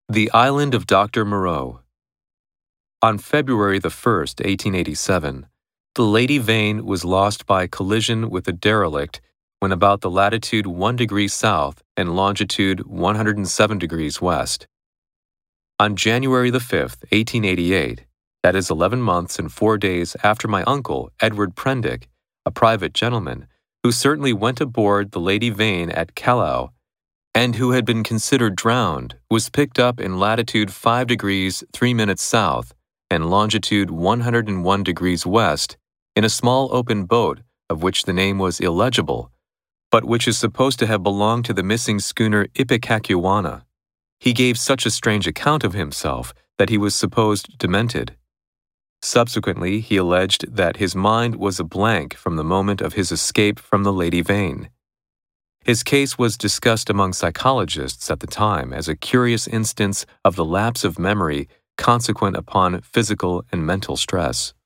The Island of Dr. Moreau. On February the 1st, 1887, the Lady Vane was lost by collision with a derelict when about the latitude 1 degree south and longitude 107 degrees west. On January the 5th, 1888, that is 11 months and 4 days after my uncle, Edward Prendick, a private gentleman, who certainly went aboard the Lady Vane at Callao, and who had been considered drowned, was picked up in latitude 5 degrees 3 minutes south and longitude 101 degrees west in a small open boat of which the name was illegible, but which is supposed to have belonged to the missing schooner Ipecacuanha. He gave such a strange account of himself that he was supposed demented. Subsequently, he alleged that his mind was a blank from the moment of his escape from the Lady Vane. His case was discussed among psychologists at the time as a curious instance of the lapse of memory consequent upon physical and mental stress.